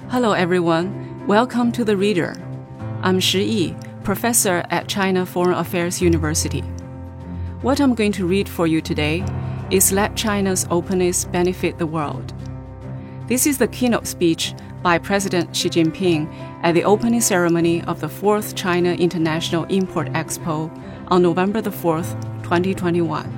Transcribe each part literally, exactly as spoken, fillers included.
Hello everyone, welcome to The Reader. I'm Shi Yi, professor at China Foreign Affairs University. What I'm going to read for you today is Let China's Openness Benefit the World. This is the keynote speech by President Xi Jinping at the opening ceremony of the fourth China International Import Expo on November the fourth, twenty twenty-one.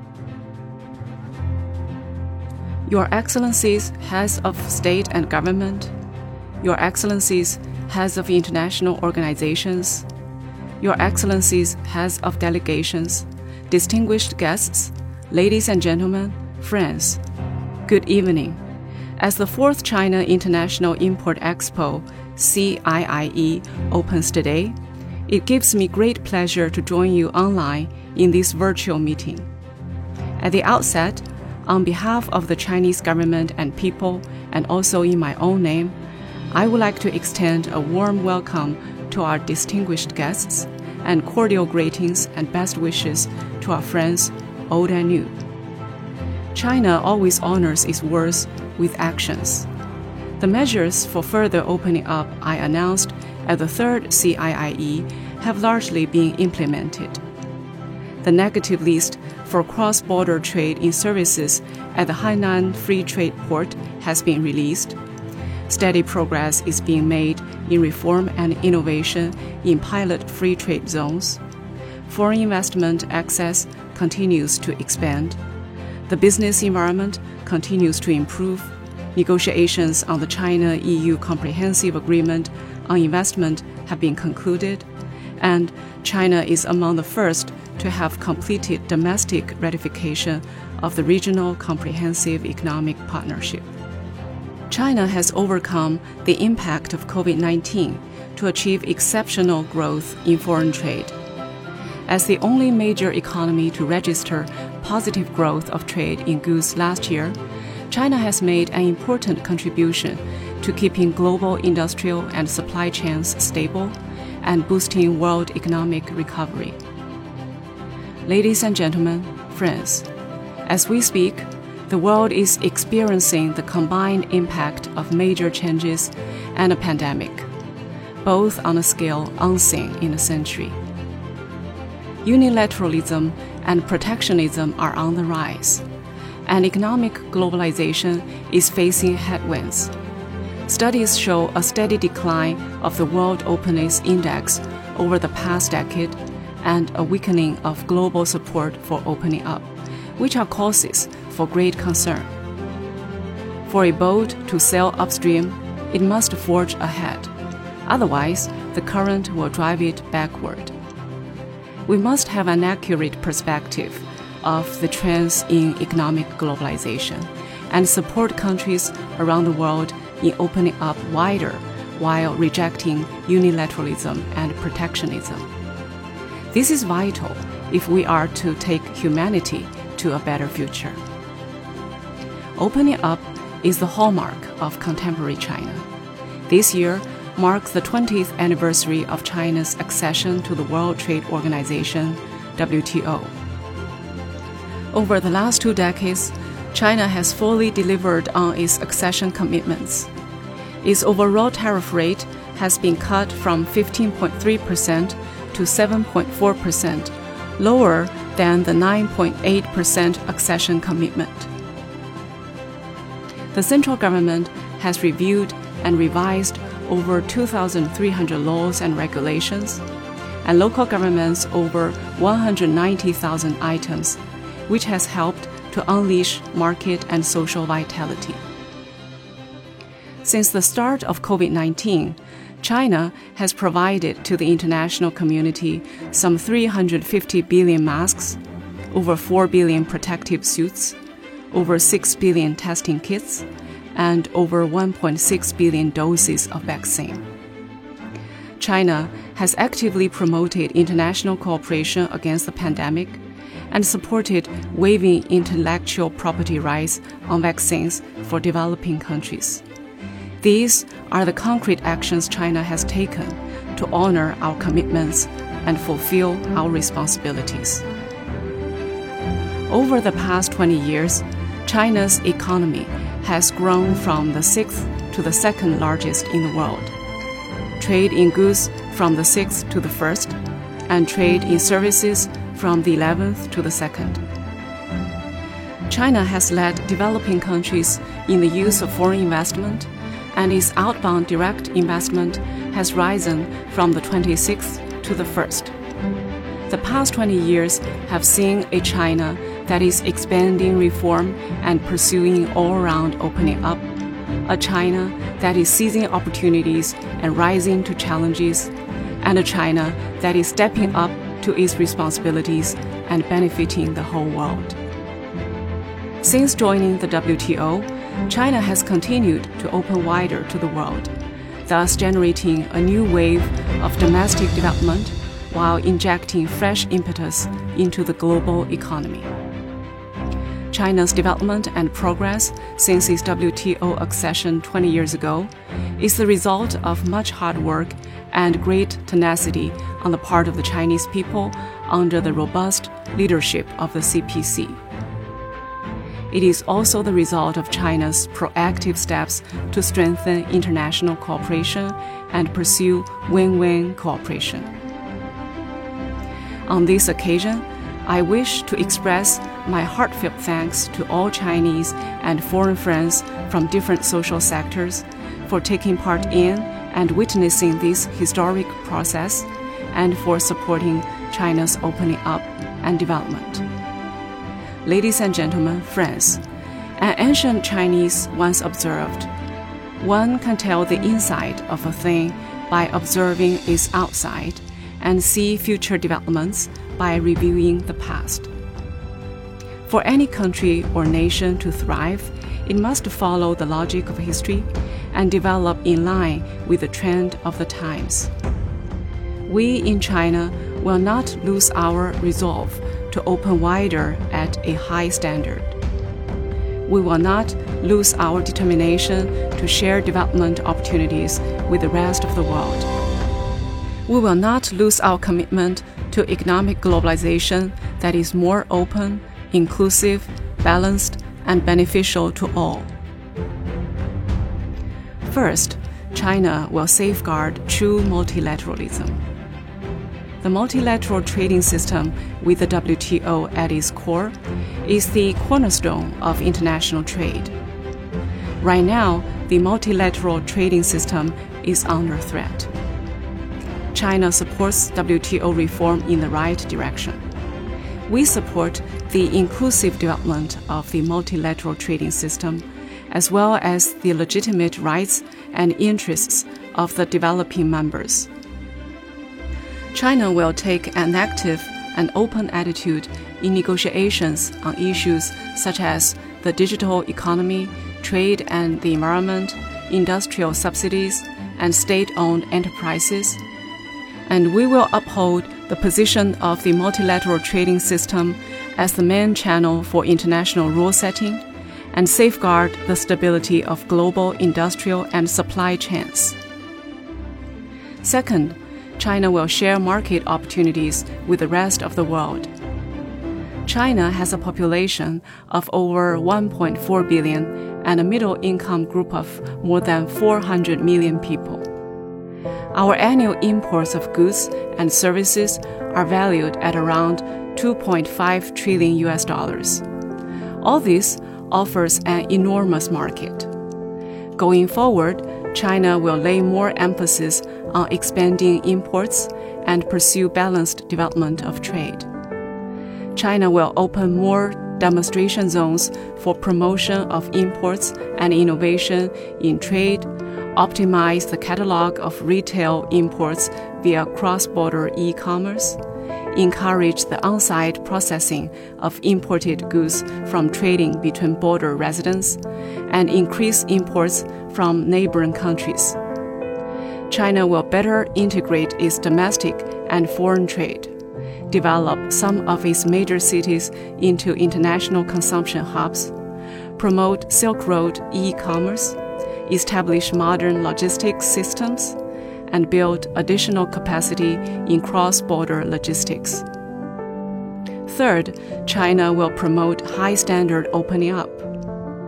Your Excellencies, heads of state and government, Your Excellencies, heads of international organizations, Your Excellencies, heads of delegations, distinguished guests, ladies and gentlemen, friends, good evening. As the fourth China International Import Expo, C I I E, opens today, it gives me great pleasure to join you online in this virtual meeting. At the outset, on behalf of the Chinese government and people, and also in my own name, I would like to extend a warm welcome to our distinguished guests and cordial greetings and best wishes to our friends, old and new. China always honors its words with actions. The measures for further opening up I announced at the third C I I E have largely been implemented. The negative list for cross-border trade in services at the Hainan Free Trade Port has been released. Steady progress is being made in reform and innovation in pilot free trade zones. Foreign investment access continues to expand. The business environment continues to improve. Negotiations on the China-E U Comprehensive Agreement on Investment have been concluded, and China is among the first to have completed domestic ratification of the Regional Comprehensive Economic Partnership. China has overcome the impact of COVID nineteen to achieve exceptional growth in foreign trade. As the only major economy to register positive growth of trade in goods last year, China has made an important contribution to keeping global industrial and supply chains stable and boosting world economic recovery. Ladies and gentlemen, friends, as we speak, the world is experiencing the combined impact of major changes and a pandemic, both on a scale unseen in a century. Unilateralism and protectionism are on the rise, and economic globalization is facing headwinds. Studies show a steady decline of the World Openness Index over the past decade and a weakening of global support for opening up, which are causes for great concern. For a boat to sail upstream, it must forge ahead. Otherwise, the current will drive it backward. We must have an accurate perspective of the trends in economic globalization and support countries around the world in opening up wider while rejecting unilateralism and protectionism. This is vital if we are to take humanity to a better future. Opening up is the hallmark of contemporary China. This year marks the twentieth anniversary of China's accession to the World Trade Organization, W T O. Over the last two decades, China has fully delivered on its accession commitments. Its overall tariff rate has been cut from fifteen point three percent to seven point four percent, lower than the nine point eight percent accession commitment. The central government has reviewed and revised over two thousand three hundred laws and regulations, and local governments over one hundred ninety thousand items, which has helped to unleash market and social vitality. Since the start of COVID nineteen, China has provided to the international community some three hundred fifty billion masks, over four billion protective suits, over six billion testing kits, and over one point six billion doses of vaccine. China has actively promoted international cooperation against the pandemic and supported waiving intellectual property rights on vaccines for developing countries. These are the concrete actions China has taken to honor our commitments and fulfill our responsibilities. Over the past twenty years, China's economy has grown from the sixth to the second largest in the world, trade in goods from the sixth to the first, and trade in services from the eleventh to the second. China has led developing countries in the use of foreign investment, and its outbound direct investment has risen from the twenty-sixth to the first. The past twenty years have seen a China that is expanding reform and pursuing all-round opening up, a China that is seizing opportunities and rising to challenges, and a China that is stepping up to its responsibilities and benefiting the whole world. Since joining the W T O, China has continued to open wider to the world, thus generating a new wave of domestic development while injecting fresh impetus into the global economy. China's development and progress since its W T O accession twenty years ago is the result of much hard work and great tenacity on the part of the Chinese people under the robust leadership of the C P C. It is also the result of China's proactive steps to strengthen international cooperation and pursue win-win cooperation. On this occasion, I wish to express my heartfelt thanks to all Chinese and foreign friends from different social sectors for taking part in and witnessing this historic process and for supporting China's opening up and development. Ladies and gentlemen, friends, an ancient Chinese once observed, one can tell the inside of a thing by observing its outside and see future developments by reviewing the past. For any country or nation to thrive, it must follow the logic of history and develop in line with the trend of the times. We in China will not lose our resolve to open wider at a high standard. We will not lose our determination to share development opportunities with the rest of the world. We will not lose our commitment to economic globalization that is more open, inclusive, balanced, and beneficial to all. First, China will safeguard true multilateralism. The multilateral trading system with the W T O at its core is the cornerstone of international trade. Right now, the multilateral trading system is under threat. China supports W T O reform in the right direction. We support the inclusive development of the multilateral trading system, as well as the legitimate rights and interests of the developing members. China will take an active and open attitude in negotiations on issues such as the digital economy, trade and the environment, industrial subsidies, and state-owned enterprises. And we will uphold the position of the multilateral trading system as the main channel for international rule setting and safeguard the stability of global industrial and supply chains. Second, China will share market opportunities with the rest of the world. China has a population of over one point four billion and a middle-income group of more than four hundred million people. Our annual imports of goods and services are valued at around two point five trillion U S dollars. All this offers an enormous market. Going forward, China will lay more emphasis on expanding imports and pursue balanced development of trade. China will open more demonstration zones for promotion of imports and innovation in trade, optimize the catalog of retail imports via cross-border e-commerce, encourage the on-site processing of imported goods from trading between border residents, and increase imports from neighboring countries. China will better integrate its domestic and foreign trade, develop some of its major cities into international consumption hubs, promote Silk Road e-commerce, establish modern logistics systems, and build additional capacity in cross-border logistics. Third, China will promote high-standard opening up.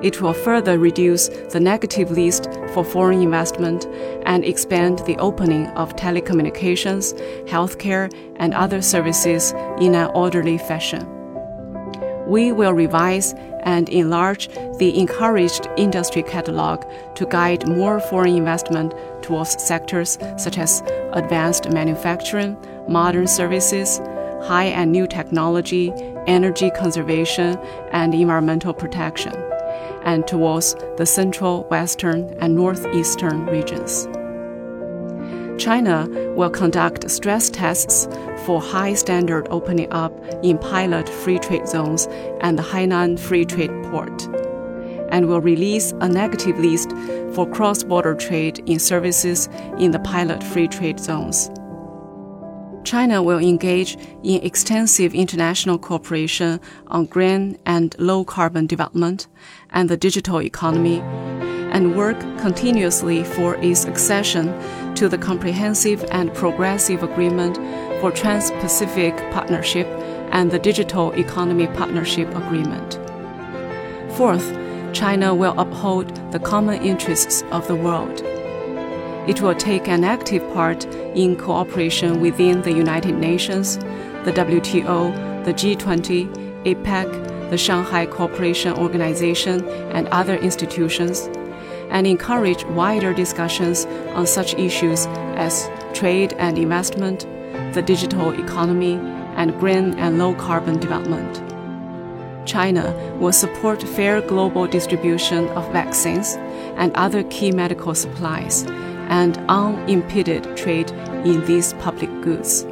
It will further reduce the negative list for foreign investment and expand the opening of telecommunications, healthcare, and other services in an orderly fashion. We will revise and enlarge the encouraged industry catalog to guide more foreign investment towards sectors such as advanced manufacturing, modern services, high and new technology, energy conservation, and environmental protection, and towards the central, western, and northeastern regions. China will conduct stress tests for high standard opening up in pilot free trade zones and the Hainan Free Trade Port, and will release a negative list for cross-border trade in services in the pilot free trade zones. China will engage in extensive international cooperation on green and low-carbon development and the digital economy, and work continuously for its accession to the Comprehensive and Progressive Agreement for Trans-Pacific Partnership and the Digital Economy Partnership Agreement. Fourth, China will uphold the common interests of the world. It will take an active part in cooperation within the United Nations, the W T O, the G twenty, APEC, the Shanghai Cooperation Organization, and other institutions, and encourage wider discussions on such issues as trade and investment, the digital economy, and green and low-carbon development. China will support fair global distribution of vaccines and other key medical supplies, and unimpeded trade in these public goods.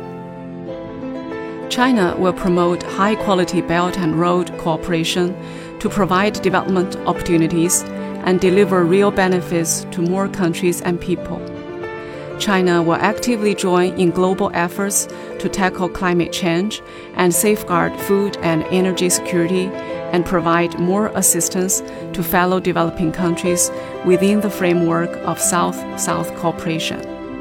China will promote high-quality Belt and Road cooperation to provide development opportunities and deliver real benefits to more countries and people. China will actively join in global efforts to tackle climate change and safeguard food and energy security, and provide more assistance to fellow developing countries within the framework of South-South cooperation.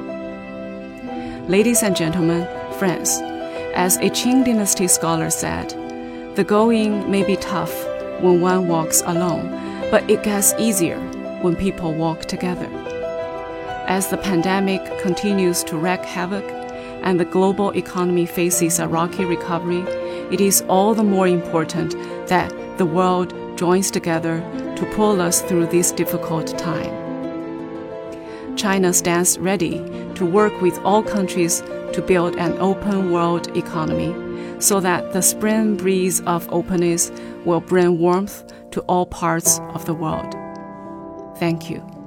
Ladies and gentlemen, friends, as a Qing Dynasty scholar said, the going may be tough when one walks alone, but it gets easier when people walk together. As the pandemic continues to wreak havoc and the global economy faces a rocky recovery, it is all the more important that the world joins together to pull us through this difficult time. China stands ready to work with all countries to build an open world economy so that the spring breeze of openness will bring warmth to all parts of the world. Thank you.